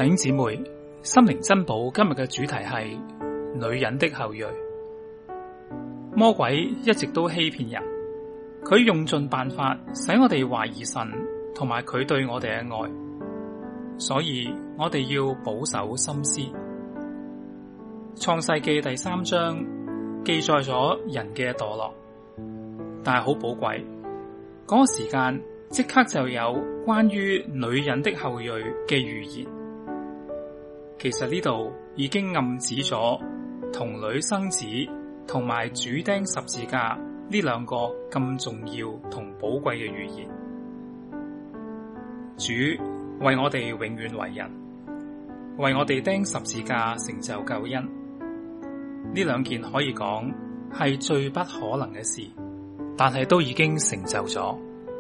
弟兄姊妹，心靈珍寶今日嘅主題係女人的後裔。魔鬼一直都欺騙人，佢用盡辦法使我哋懷疑神同埋佢對我哋嘅愛，所以我哋要保守心思。創世記第3章記載咗人嘅墮落，但係好寶貴，嗰個時間即刻就有關於女人的後裔嘅預言。其實呢度已經暗指咗童女生子同埋主釘十字架呢兩個咁重要同寶貴嘅預言。主為我哋永遠為人，為我哋釘十字架成就救恩。呢兩件可以講係最不可能嘅事，但係都已經成就咗。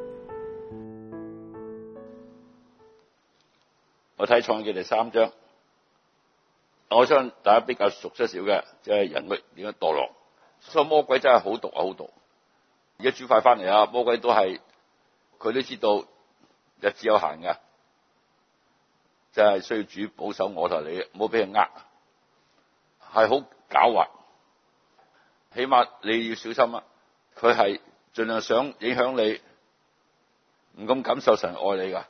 我睇創世記第3章。我相信大家比較熟悉少嘅，即係人類點樣墮落。所以魔鬼真係好毒啊，好毒！而家主快翻嚟啊，魔鬼都係佢都知道日子有限嘅，即係需要主保守我同你，唔好俾人呃，係好狡猾。起碼你要小心啊！佢係盡量想影響你，唔咁感受神愛你噶。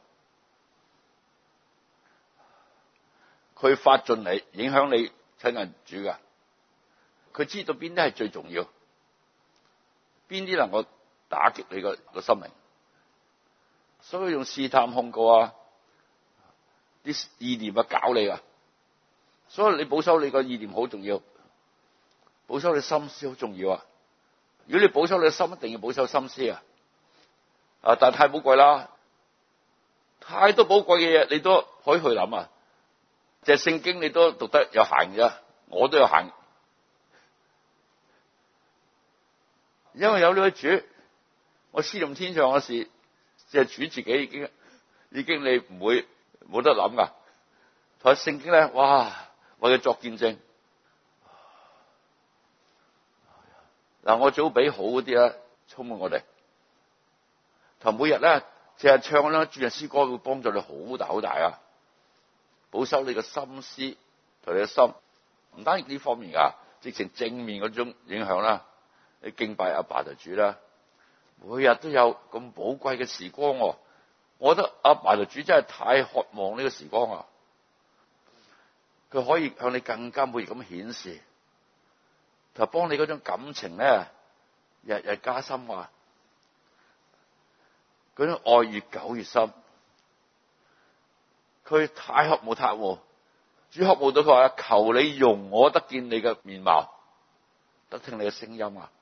佢發盡你，影響你親近主噶。佢知道邊啲係最重要，邊啲能夠打擊你個心靈，所以用試探控告啊，啲意念啊搞你啊。所以你保守你個意念好重要，保守你心思好重要啊。如果你保守你嘅心，一定要保守心思啊。但係太寶貴啦，太多寶貴嘅嘢你都可以去諗啊。即係聖經你都讀得有限嘅，我都有限，因為有呢位主，我思念天上嘅事，即係主自己已經你唔會冇得諗噶。同埋聖經咧，哇，為佢作見證。嗱，我早俾好嗰啲咧，充滿我哋。同每日咧，淨係唱啦，主日詩歌會幫助你好大好大啊！保守你嘅心思同你嘅心，唔單止呢方面噶，直情正面嗰種影響啦。你敬拜阿爸就主啦，每日都有咁寶貴嘅時光。我覺得阿爸就主真係太渴望呢個時光啊！佢可以向你更加每日咁顯示，就幫你嗰種感情咧，日日加深啊！嗰種愛越久越深。佢太渴慕，主渴慕到佢話：求你容我得見你嘅面貌，得聽你嘅聲音啊！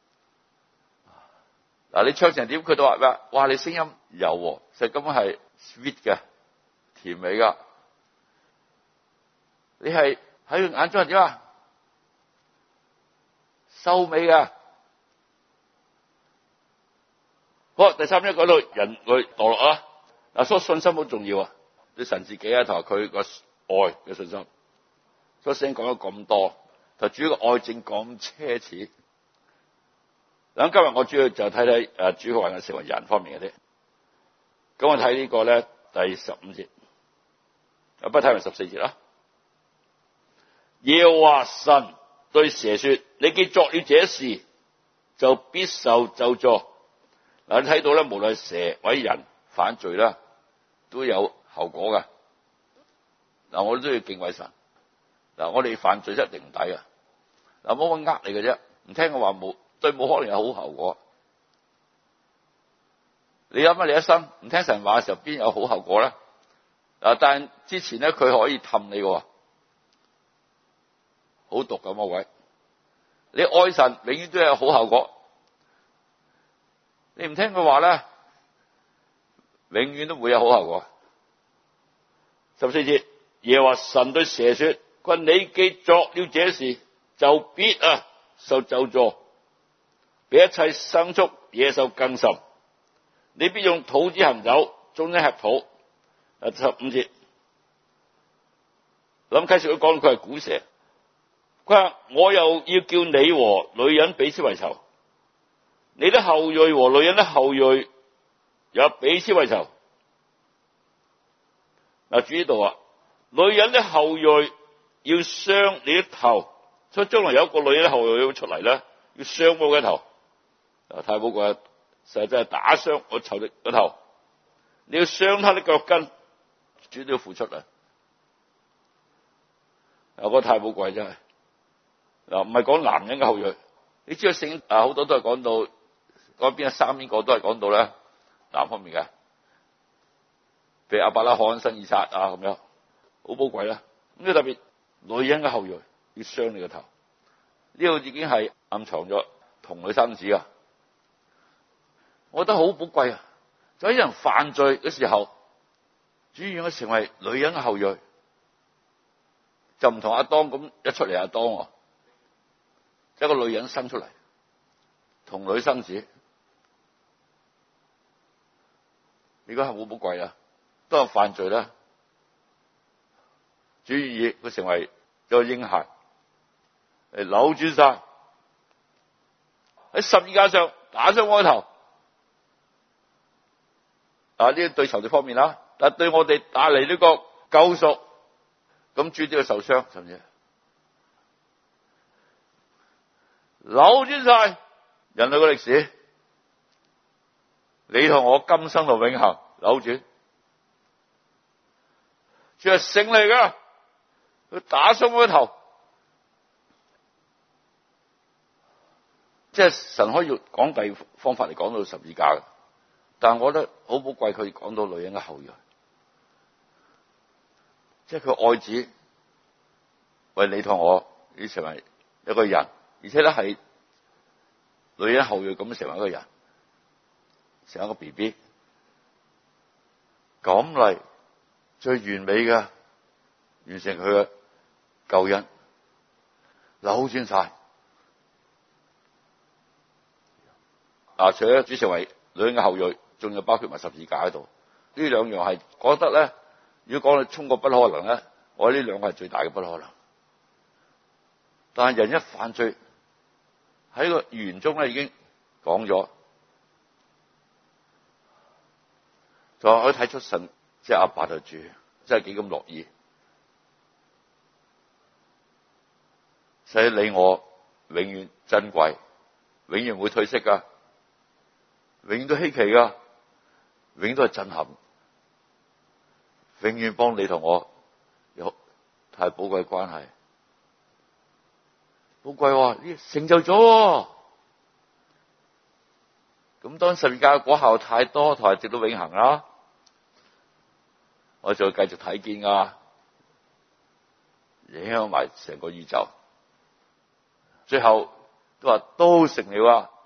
嗱，你唱成點，佢都話咩？哇！你聲音柔和，其實根本係 sweet 嘅，甜美噶。你係喺佢眼中係點啊？秀美噶。好，第3章講到人類墮落啊！嗱，所以信心好重要啊！對神自己啊，同埋佢個愛嘅信心，所以聖經講咗咁多，就主要個愛證咁奢侈。咁今日我主要就睇睇主嘅話嘅成為人方面嘅啫。咁我睇呢個咧第15節，不睇埋14節啦。耶和華神對蛇說：你既作了這事，就必受咒詛。嗱，你睇到咧，無論蛇或者人犯罪啦，都有後果噶。嗱，我都要敬畏神。嗱，我哋犯罪一定唔抵啊。嗱，冇乜呃你嘅啫，唔聽我話冇可能有好後果。你諗下，你一生唔聽神話嘅時候，邊有好後果咧？嗱，但之前咧，佢可以氹你嘅，好毒噶魔鬼。你愛神，永遠都有好後果。你唔聽佢話咧，永遠都會有好後果。14節，耶和華神對蛇說：佢話你既作了這事，就必受咒詛，比一切牲畜野獸更甚。你必用肚子行走，終身吃土。15節，諗啟示佢講佢係古蛇，佢話我又要叫你和女人彼此為仇，你的後裔和女人的後裔也彼此為仇。嗱，主呢度啊， 女人的後裔要傷你的頭，所以將來有一個女人的後裔要出嚟咧，要傷我嘅頭。太寶貴，實際係打傷我仇敵嘅頭。你要傷他的腳跟，主都要付出啊！嗰個太寶貴真係嗱，唔係講男人嘅後裔。你知道聖好多都係講到嗰邊三邊個都係講到咧男方面嘅，譬如亞伯拉罕生以撒啊咁樣，好寶貴啦。咁特別女人嘅後裔要傷你個頭，呢個已經係暗藏咗童女生子啊！我覺得好寶貴啊！就喺人犯罪嘅時候，主要佢成為女人嘅後裔，就唔同亞當咁一出嚟亞當，一個女人生出嚟，童女生子，呢個係好寶貴啊！當人犯罪咧，主要佢成為一個嬰孩，嚟扭轉晒喺十字架上打傷我個頭。呢啲對仇敵方面啦，但係對我哋帶嚟呢個救贖，咁主都要受傷，甚至扭轉晒人類嘅歷史，你同我今生到永恆扭轉，主係勝利㗎，佢打傷我個頭，即係神可以講第二方法嚟講到十字架嘅。但係我覺得好寶貴，佢講到女人嘅後裔，即係佢愛子為你同我已成為一個人，而且咧係女人後裔咁成為一個人，成為一個 BB， 咁嚟最完美嘅完成佢嘅救恩，扭轉晒。除咗主成為女人嘅後裔，仲有包括埋十字架喺度，呢兩樣係覺得咧，如果講到衝過不可能咧，我呢兩個係最大嘅不可能。但係人一犯罪喺個預言中咧已經講咗，就可以睇出神即係阿爸就主，真係幾咁樂意，使你我永遠珍貴，永遠唔會褪色噶，永遠都稀奇噶。永遠都係震撼，永遠幫你同我有太寶貴嘅關係，寶貴呢成就咗。咁當十字架嘅果效太多，同埋直到永恆啦，我就會繼續睇見噶，影響埋成個宇宙，最後都話都成了啊！